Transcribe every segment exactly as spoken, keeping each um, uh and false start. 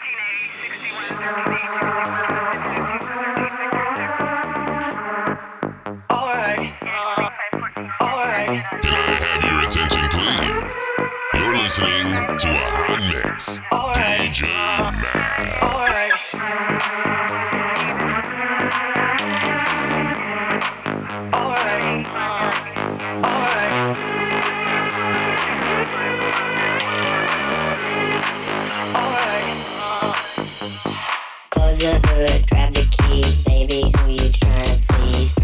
Listening to a hot mix. D J Mad. Alright. Alright. Alright. Close the hood, grab the keys, baby. Who you tryna please?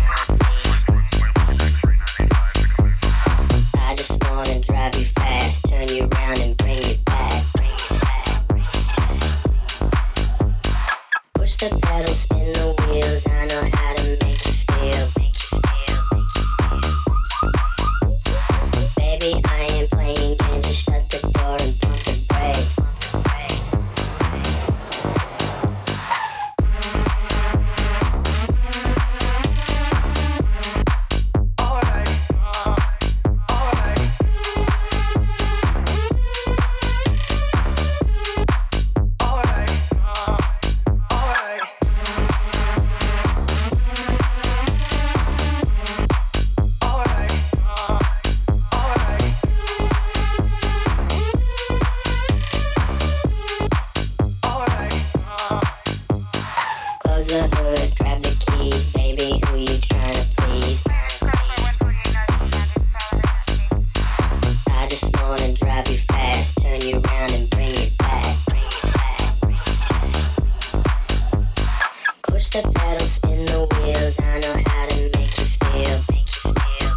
I just wanna drive you fast, turn you around and bring you back. Bring you back. Push the pedal, spin the wheels. I know how to make you feel. Make you feel. Make you feel. Baby, I ain't playing games. Just shut the door and pump the brakes. Close the hood, grab the keys, baby. Who you tryna please? I just wanna drive you fast, turn you around and bring you back. Bring you back. Push the pedal, spin the wheels. I know how to make you feel. Make you feel.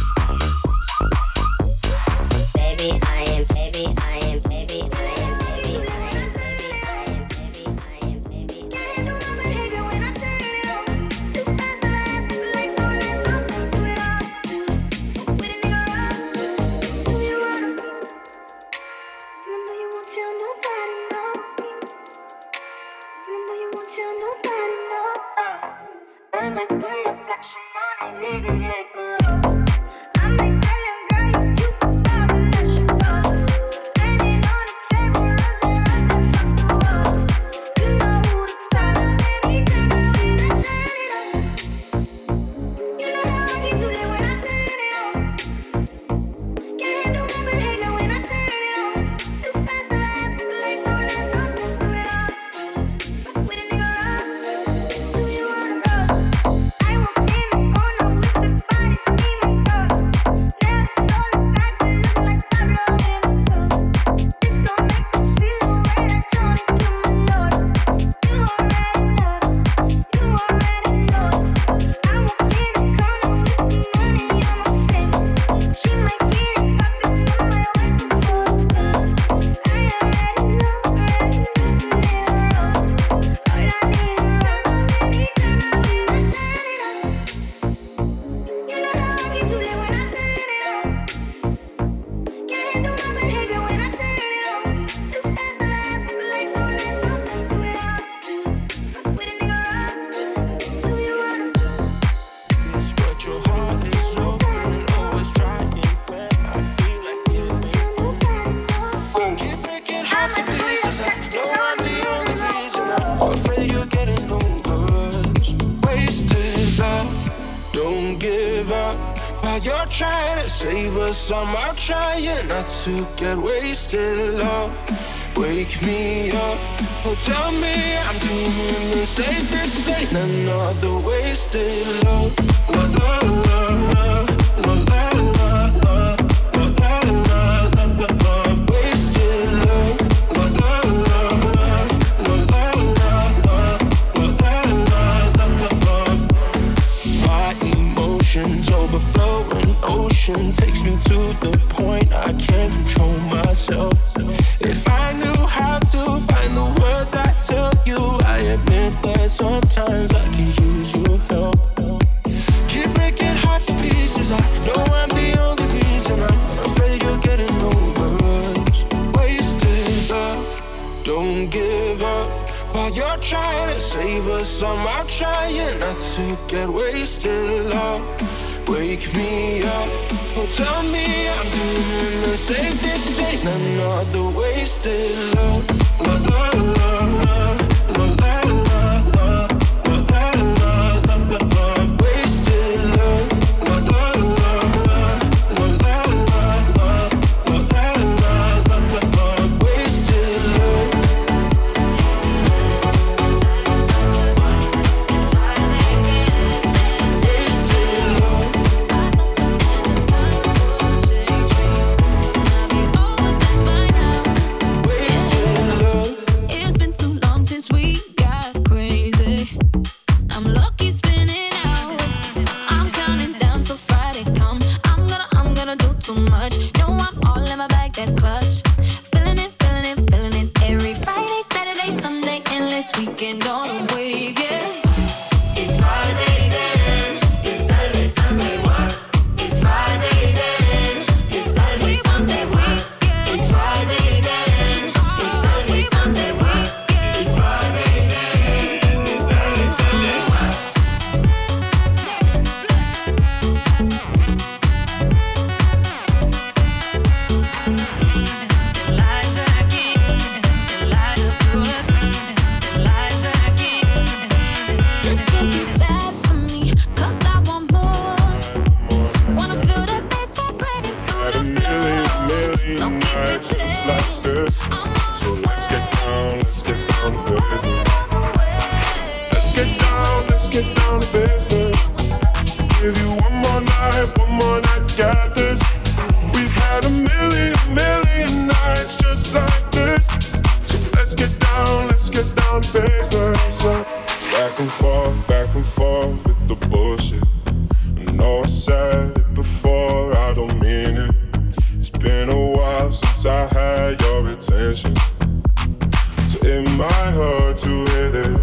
Make you feel. Baby, I am. Baby, I am. Baby, I am. Baby, I am. Baby, I am. Baby, I am. Baby, I am. You're trying to save us, I'm out trying not to get wasted, love. Wake me up, oh tell me I'm dreaming the same. This ain't another wasted love. La la la la, la la la la, la la la la, love. Wasted love. La la la la, la la la la, la la la la, love. My emotions overflowing, ocean takes me to the point I can't control myself. If I knew how to find the words I tell you, I admit that sometimes I can use your help. Keep breaking hearts to pieces, I know I'm the only reason. I'm afraid you're getting over us. Wasted love, don't give up. While you're trying to save us, I'm out trying not to get wasted, love. Wake me up, oh tell me I'm doing the same. This ain't another wasted love. La la la. weekend on a wave, yeah. It's Friday then, it's Saturday, Sunday, what? It's Friday then, it's Saturday, Sunday, what? It's Friday then, it's Saturday, Sunday, what? It's Friday then, it's Saturday, Sunday, what? This could be bad for me, 'cause I want more. Wanna feel that bass vibrating through Had a the million, floor. million So keep it nights just playing. like this. I'm on So the let's get way, down, let's get and down I'm to business. running on the way. Let's get down, let's get down to business. Give you one more night, one more night, got this. We've had a million, million nights just like this. So let's get down, let's get down to business. So back and forth, back and forth with the bullshit. I know I said it before, I don't mean it. It's been a while since I had your attention, so it might hurt to hit it.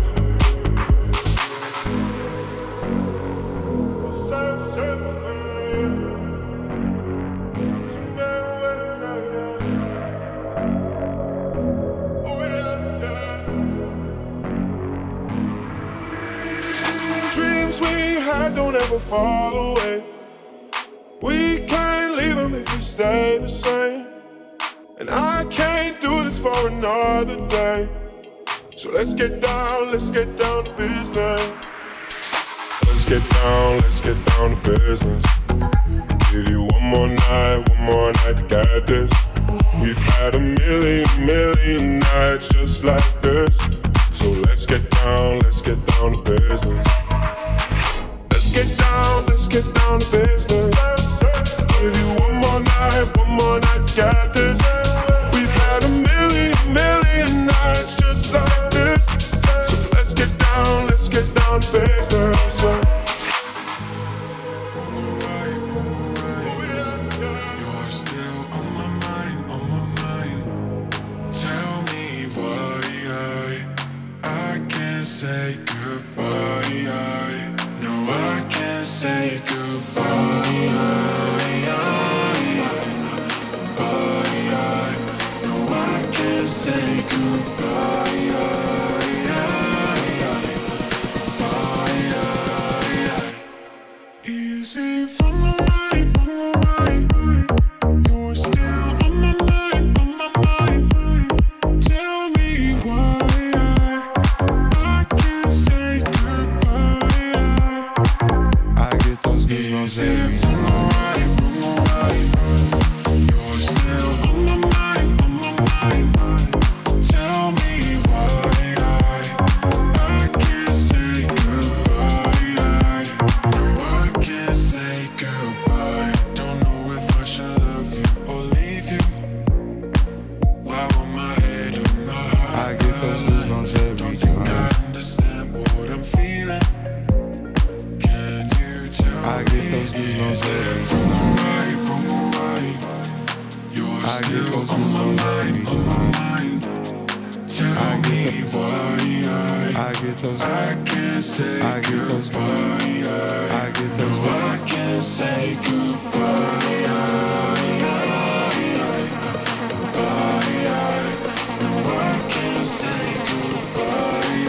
Dreams we had don't ever fall away. We can't leave them if we stay the same. And I can't do this for another day. So let's get down, let's get down to business. Let's get down, let's get down to business. Give you one more night, one more night to get this. We've had a million, million nights just like this. So let's get down, let's get down to business. Let's get down, let's get down to business. Give you one more night, one more night to get this. We've had a million, million nights just like this. So let's get down, let's get down to business. You're still on my mind, on my mind. Tell me why I, I can't say goodbye. I, no, I can't say goodbye. I, I, no, I can't say goodbye. Easy from the right, from the right. You're still on my mind, on my mind. Tell me why I, I can't say goodbye. I get those goosebumps every From the time. right, from the right. You're still on my mind, on my mind. Tell me why I, I can't say goodbye. I, no, I can't say goodbye. Don't know if I should love you or leave you. Why will my head on my heart? I get those goosebumps every Don't think I time. understand what I'm feeling. Can you tell I get those goosebumps every from the time. right, from the right? You're I get still those on my goosebumps mind, every on my time. mind. Tell I get me the- why I get those. I, I can't say I get those. goodbye. I get those. No, I can't say goodbye. No, I can't say goodbye.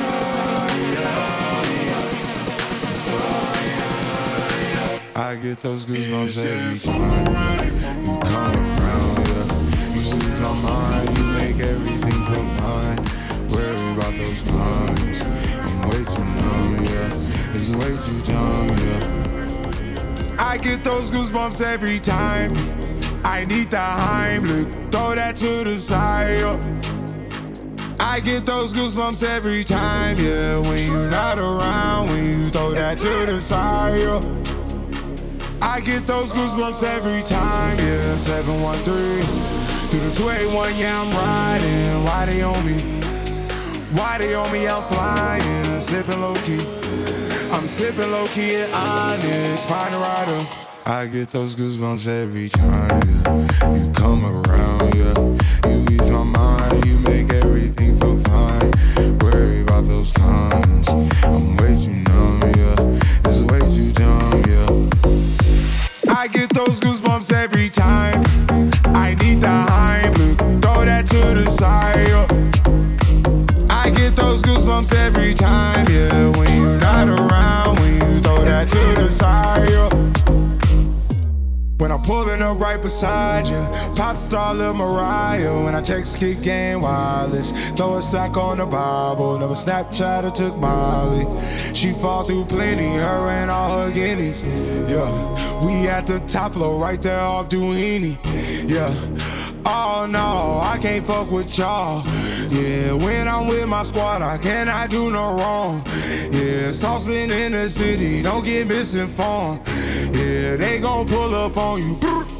I get those goosebumps every From time. the right, from You the come around, yeah. You ease my mind, you make everything feel fine. Worry about those cons. I'm way too numb, yeah. It's way too dumb, yeah. I get those goosebumps every time. I need the Heimlich, throw that to the side. yeah. I get those goosebumps every time, yeah. When you're not around, when you throw that to the side. yeah. I get those goosebumps every time, yeah. seven one three through the two eight one, yeah, I'm riding. Why they on me? Why they on me? I'm flying, sipping low key. I'm sipping low key at Onyx, find a rider. I get those goosebumps every time, yeah. You come around, yeah. You ease my mind, you make everything feel fine. Worry about those get those goosebumps every time, yeah. When you're not around, when you throw that to the side, yeah. When I'm pulling up right beside you, pop star Lil Mariah. When I text Kick Game Wireless, throw a stack on the Bible. Never Snapchat or took Molly. She fall through plenty, her and all her guineas. Yeah, we at the top floor, right there off Duini. Yeah. Oh no, I can't fuck with y'all. Yeah, when I'm with my squad, I cannot do no wrong. Yeah, saucepan in the city, don't get misinformed. Yeah, they gon' pull up on you.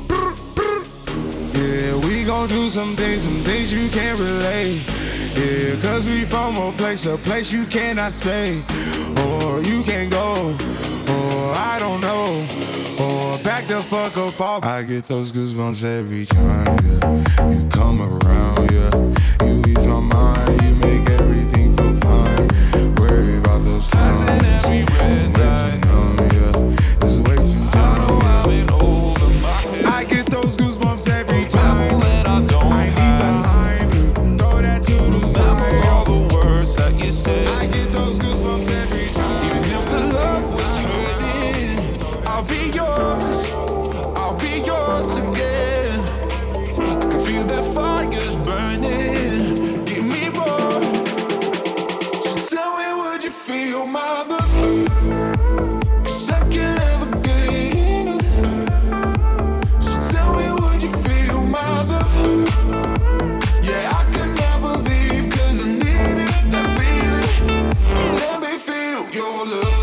Yeah, we gon' do some things, some things you can't relate. Yeah, cause we from a place, a place you cannot stay. Or you can't go, or I don't know. Or back the fuck up off. I get those goosebumps every time, yeah. You come around, yeah. You ease my mind, you make everything feel fine. Worry about those times. It's way too numb, yeah. It's way too dumb, yeah. I get those goosebumps every time. I leave behind you, throw that to the side. All the words that you said. I get those goosebumps every time. Even if the love was hurting, I'll be yours. I'll be yours again. I can feel that fire's burning. Give me more. So tell me, would you feel my love? 'Cause I can't ever get enough. So tell me, would you feel my love? Yeah, I can never leave 'cause I need it, that feeling. Let me feel your love.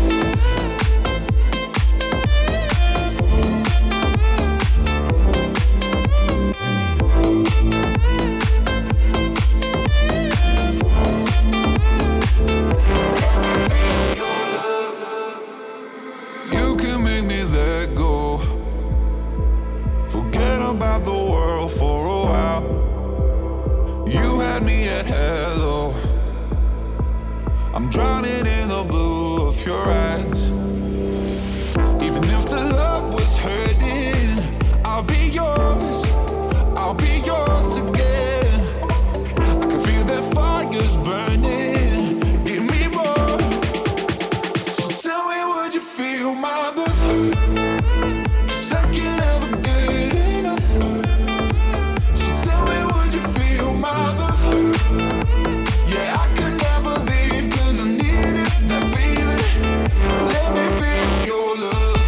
You can make me let go. Forget about the world for a while. You had me at hello. I'm drowning in the blue of your eyes. Even if the love was hurting, I'll be yours. I'll be yours again. I can feel that fire's burning. Give me more. So tell me, would you feel my love? 'Cause I can't ever get enough. So tell me, would you feel my love? Yeah, I can never leave 'cause I need it, that feeling. Let me feel your love.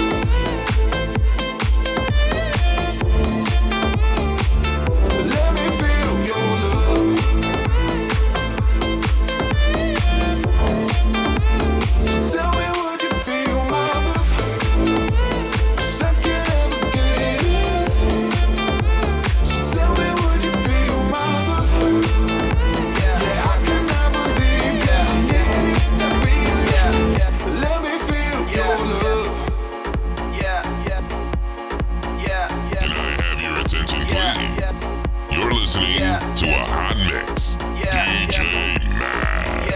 Let me feel your love. So tell me, would you feel my love? 'Cause I can't ever get enough. So tell me, would you feel my love? Yeah, I can never leave 'cause I need it, that feeling. Let me feel your love. Can I have your attention, please? You're listening to a hot mix. D J Mac.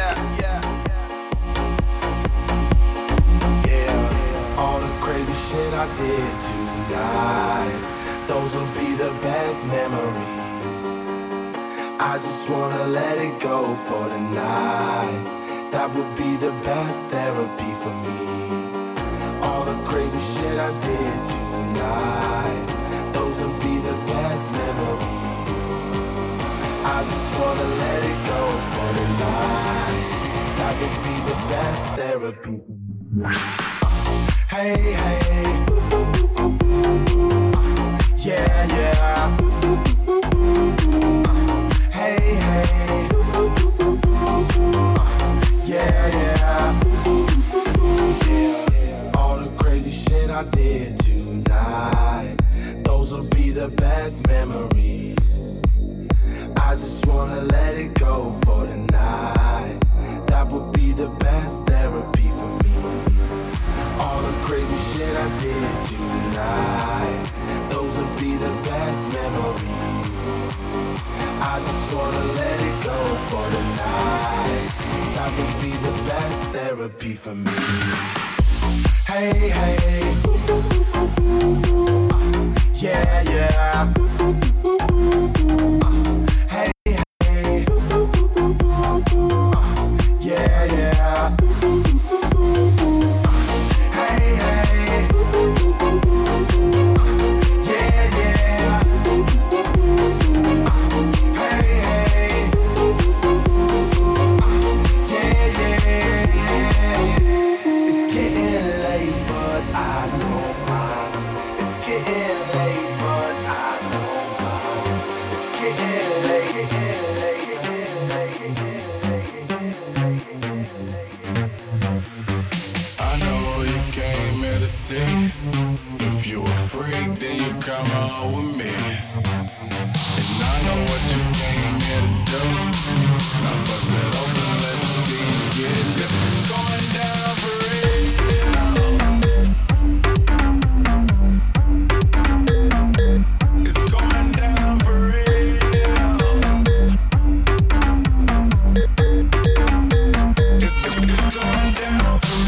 Yeah, all the crazy shit I did tonight, those will be the best memories. I just wanna let it go for the night. That would be the best therapy for me. All the crazy shit I did tonight, those will be the best memories. I just wanna let it go for the night. That would be the best therapy. Hey, hey. Yeah, yeah. Hey, hey. Yeah, yeah. Yeah. All the crazy shit I did tonight, those will be the best memories. I just wanna let it go for the night. That would be the best therapy for me. All the crazy shit I did tonight, those will be the best memories. I just wanna let it go for the night. That would be the best therapy for me. Hey, hey. Yeah, yeah. Hey, hey. come on with me. And I know what you came here to do. Now bust it open, let me see you get it. This is going down for real. It's going down for real. It's, it's going down for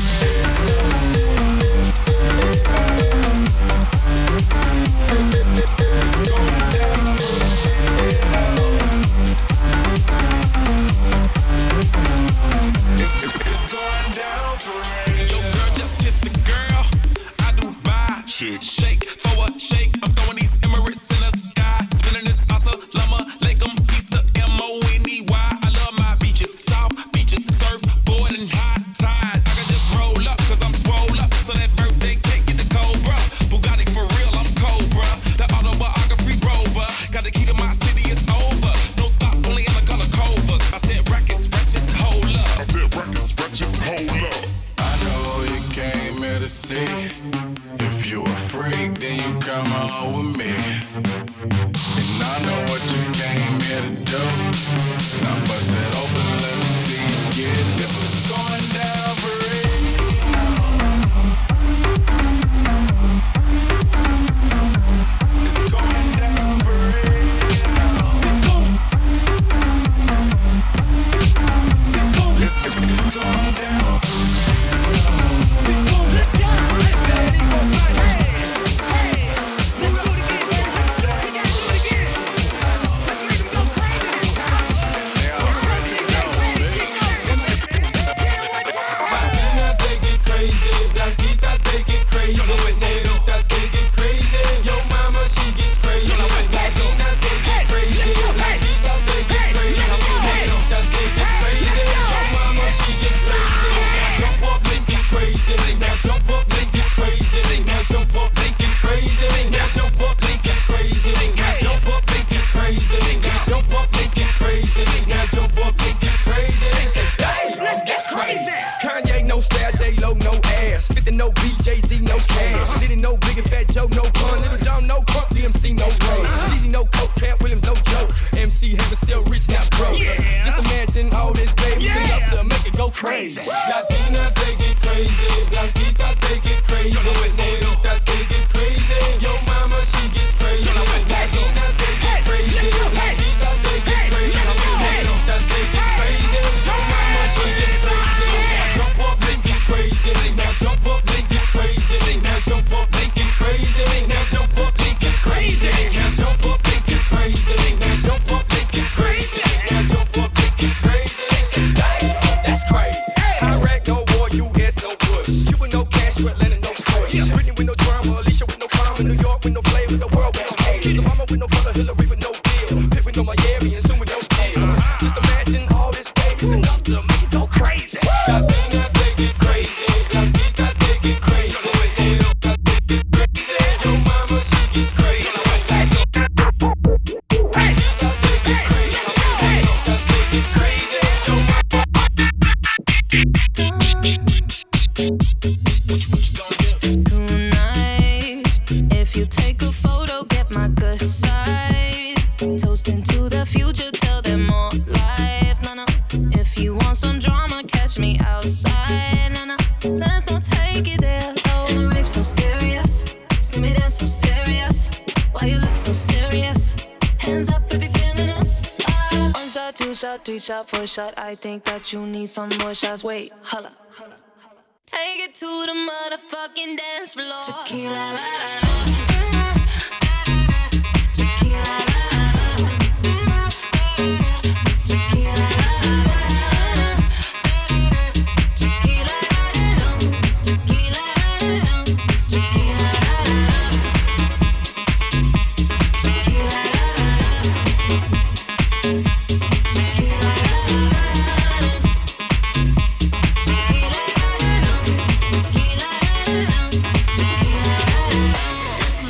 Shake, shake, throw a shake. I'm throwing these Emirates in the sky. Spinning this asa, llama, lake 'em, Easter, M O N E Y. I love my beaches, South beaches, surf, board, and high tide. I can just roll up, cause I'm swole up. So that birthday cake get the Cobra. Bugatti for real, I'm Cobra. That autobiography rover. Got the key to my city, it's over. No thoughts, only in the color covers. I said records, wretches, hold up. I said records, wretches, hold up. I know you came here to see. If you a freak, then you come on with me. And I know what you came here to do. Now bust it open, let me see you get it. This was going down for real. It's going down for real. It's, it's going down for real. Crazy. Latinas, they get crazy. Blanquitas, they get crazy. Negritas, they get crazy. Yo mama, she gets crazy. Latinas, they get crazy. Blanquitas, they get crazy. Negritas, they get crazy. Yo mama, she gets crazy. Jump up, let's get crazy. Now jump up, let's get crazy. Now jump up, let's get crazy. Now jump up, let's get crazy. Now jump up, let's get crazy. Now jump up, let's get crazy. Now jump up, let's get crazy. That's crazy. Iraq, no war, U S, no push. Cuba, no cash, Atlanta, no squish. Britney with no drama, Alicia with no crime. New York with no flavor, the world with no haters. Obama with no color, Hillary with no deal. Pitt with no Miami, and Zoom with no skills. Just imagine all this baby's enough to make it go crazy. Latinas, they get crazy. Latinas, they get crazy. Latinas, they get crazy. Yo mama, she gets crazy. Tonight, if you take a photo, get my good side. Toasting to the future, tell them more life. No, no. If you want some drama, catch me outside. No, no. Let's not take it there. Oh, the rape so serious. See me dance so serious. Why you look so serious? Hands up if you're feeling us. Ah. One shot, two shot, three shot, four shot. I think that you need some more shots. Wait, holla. Take it to the motherfucking dance floor. Tequila, la, la, la. Tequila, la, la, la. Tequila, la, la, la. Tequila, la, la, la. Tequila, la, la, la. Tequila, la, la, la. Tequila, la, la, la. Tequila, la, la, la. Tequila, la, la, la.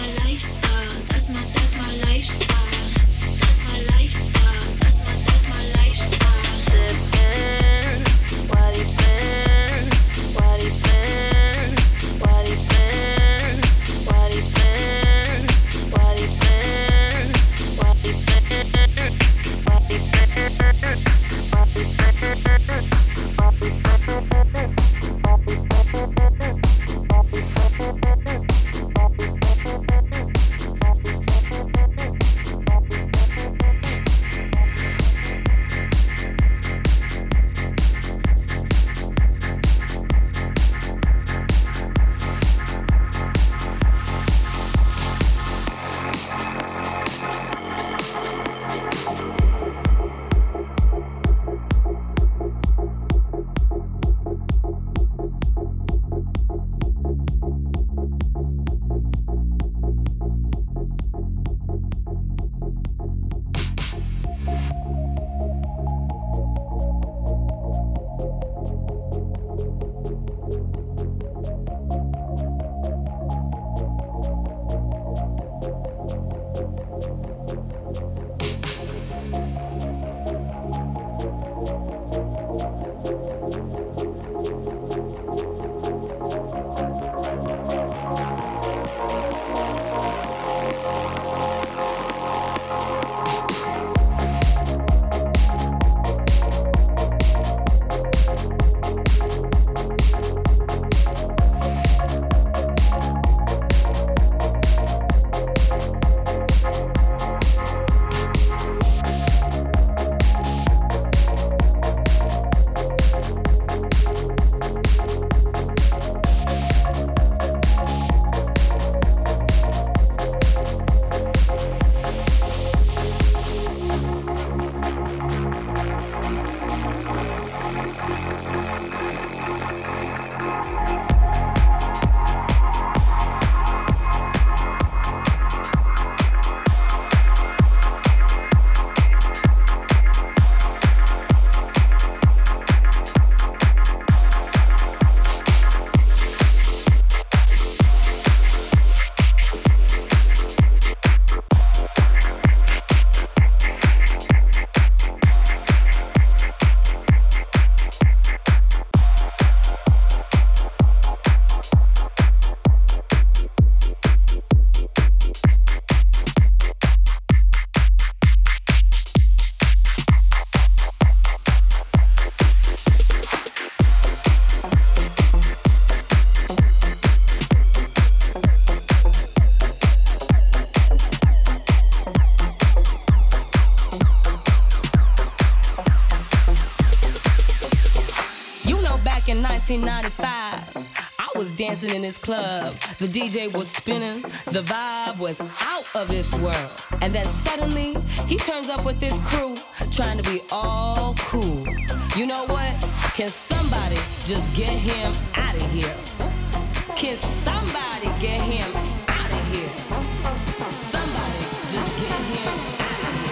back in nineteen ninety-five. I was dancing in this club. The D J was spinning. The vibe was out of this world. And then suddenly, he turns up with this crew, trying to be all cool. You know what? Can somebody just get him out of here? Can somebody get him out of here? Somebody just get him out of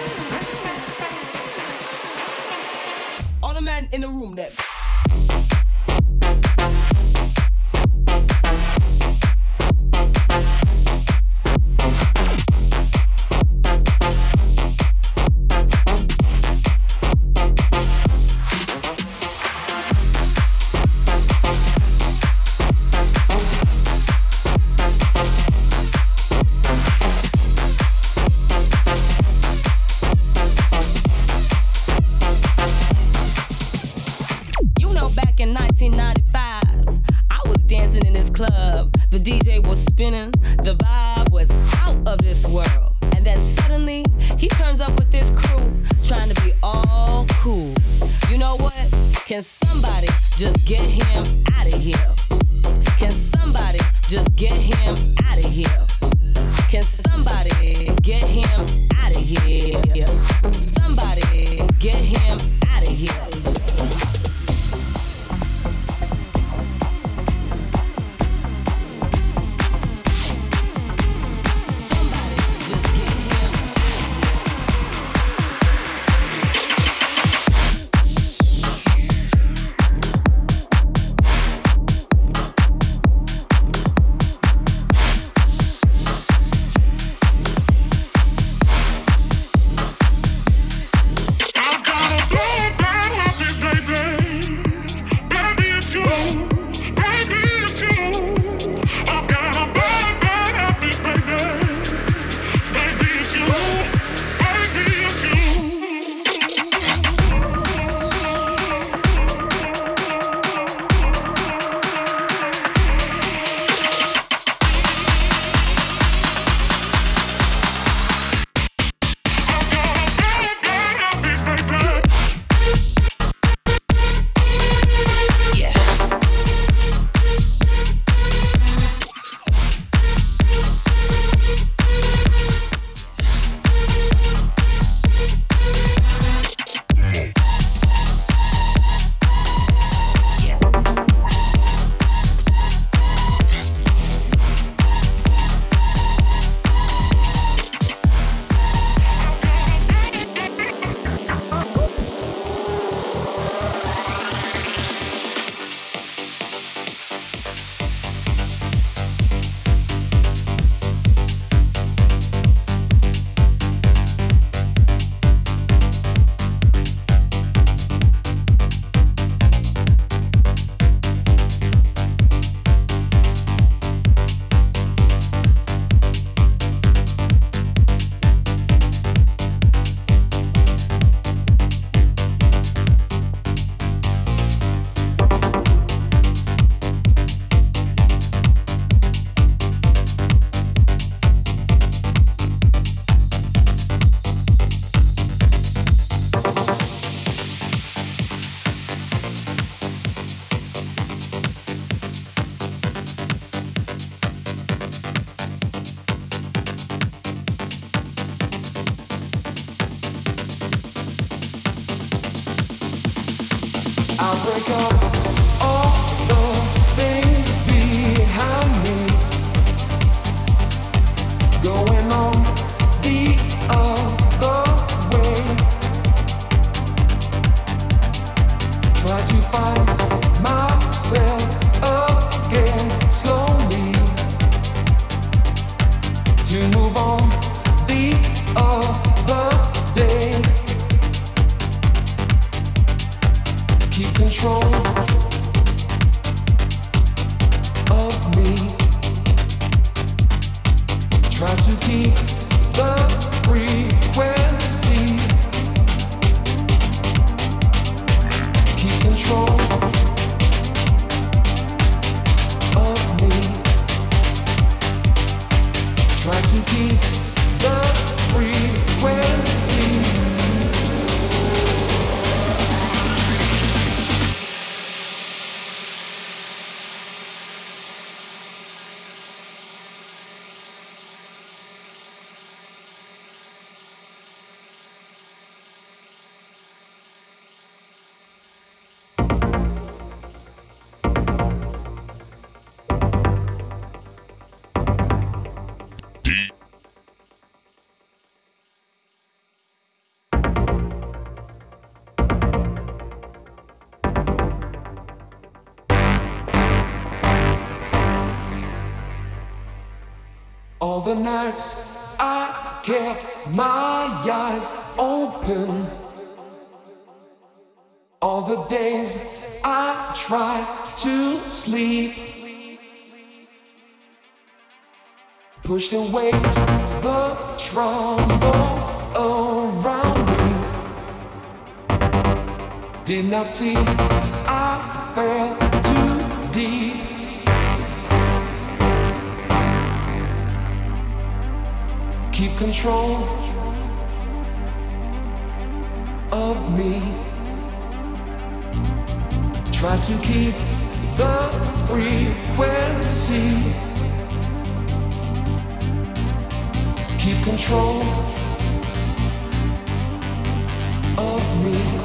here. All the men in the room that All the nights I kept my eyes open. All the days I tried to sleep. Pushed away the troubles around me. Did not see I fell too deep. Keep control of me. Try to keep the frequency. Keep control of me.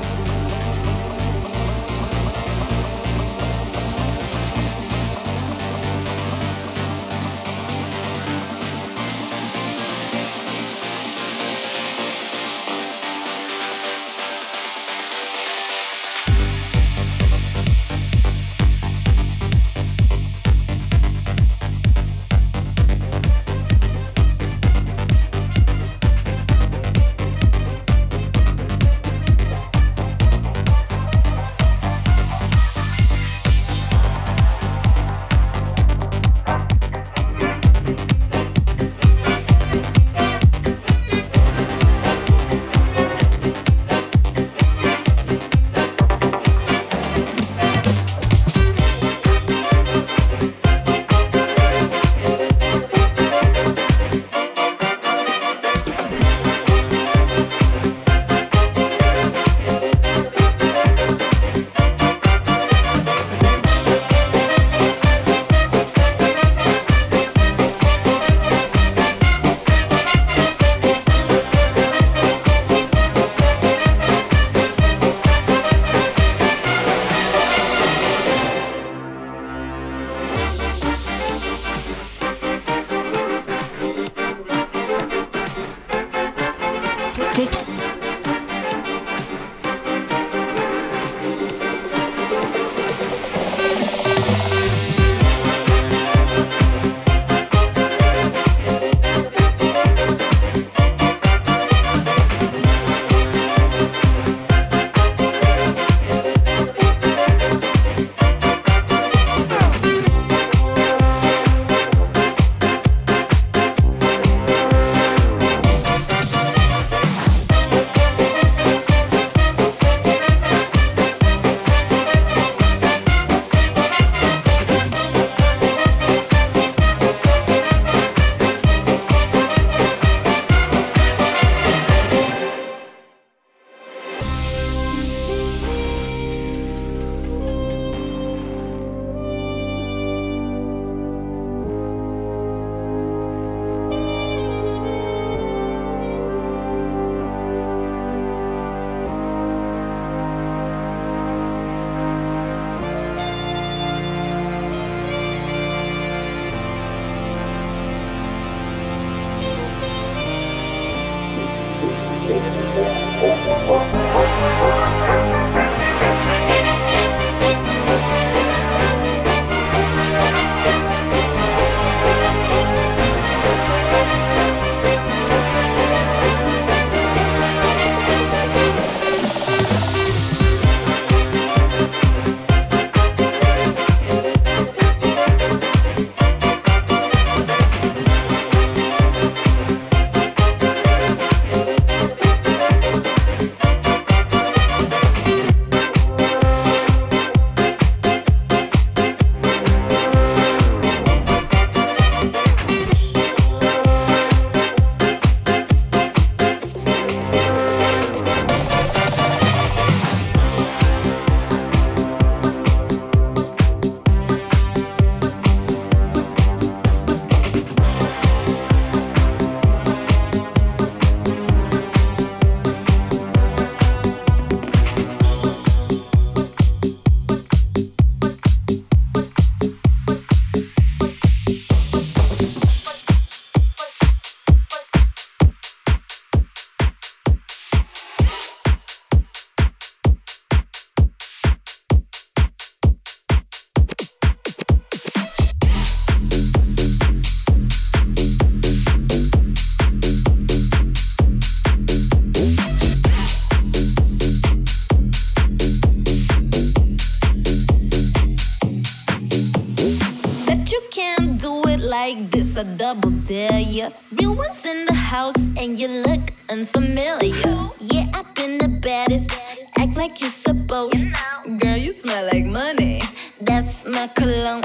like this, a double dare ya. Real ones in the house and you look unfamiliar. Yeah, I've been the baddest, act like you supposed. Girl, you smell like money, that's my cologne.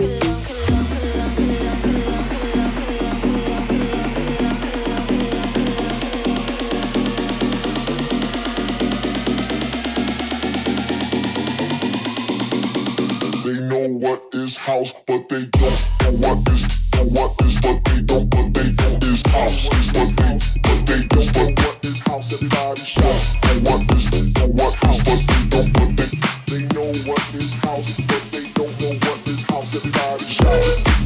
They know what is house, but they don't know what is, know what is, but they don't, but they don't is house, is what they, but they don't, but what is house, everybody shout. Know what is, know what house, but they don't, but they, they know what is house, but they don't know what is house, everybody shout.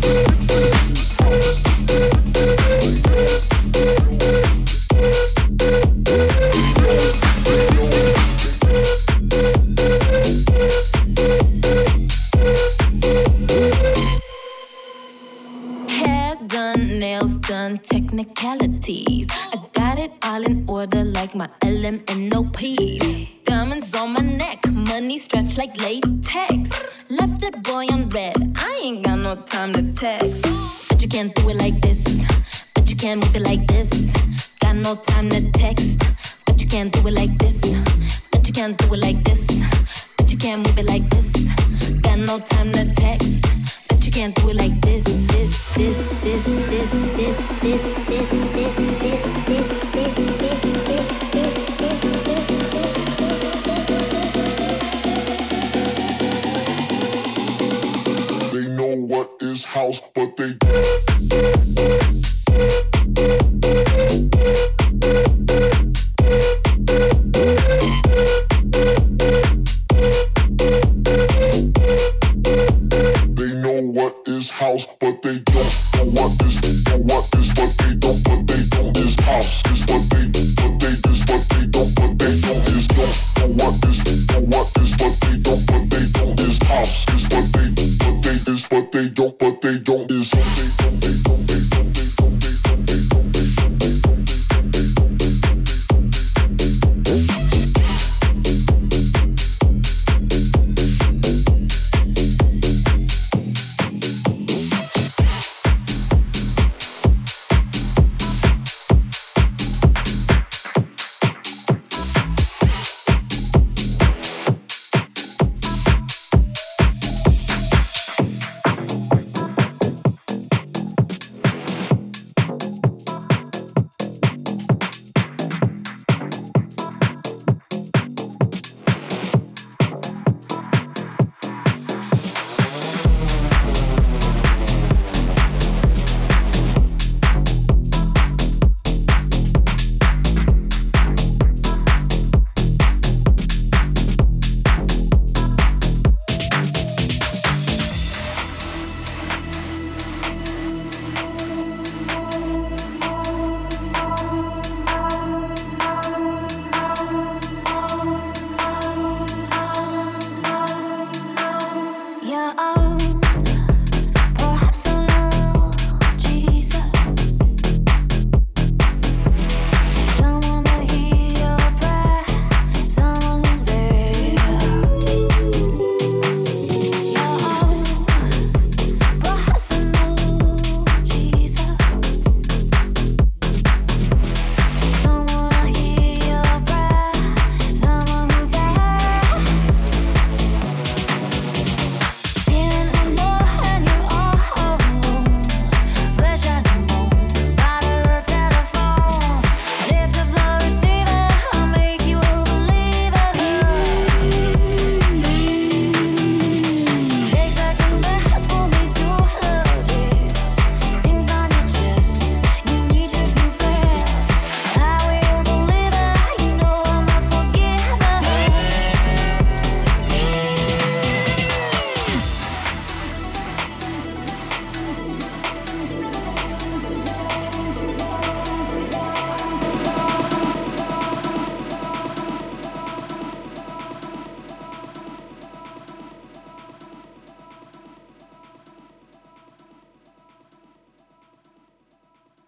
Done technicalities. I got it all in order like my L M N O P. Diamonds on my neck, money stretched like latex. Left that boy on red, I ain't got no time to text. But you can't do it like this, but you can't move it like this. Got no time to text, but you can't do it like this, but you can't do it like this, but you can't move it like this. Got no time to text. You can't do it like this, this, this, this, this, this, this, this, this, this, this, They know what is house, but they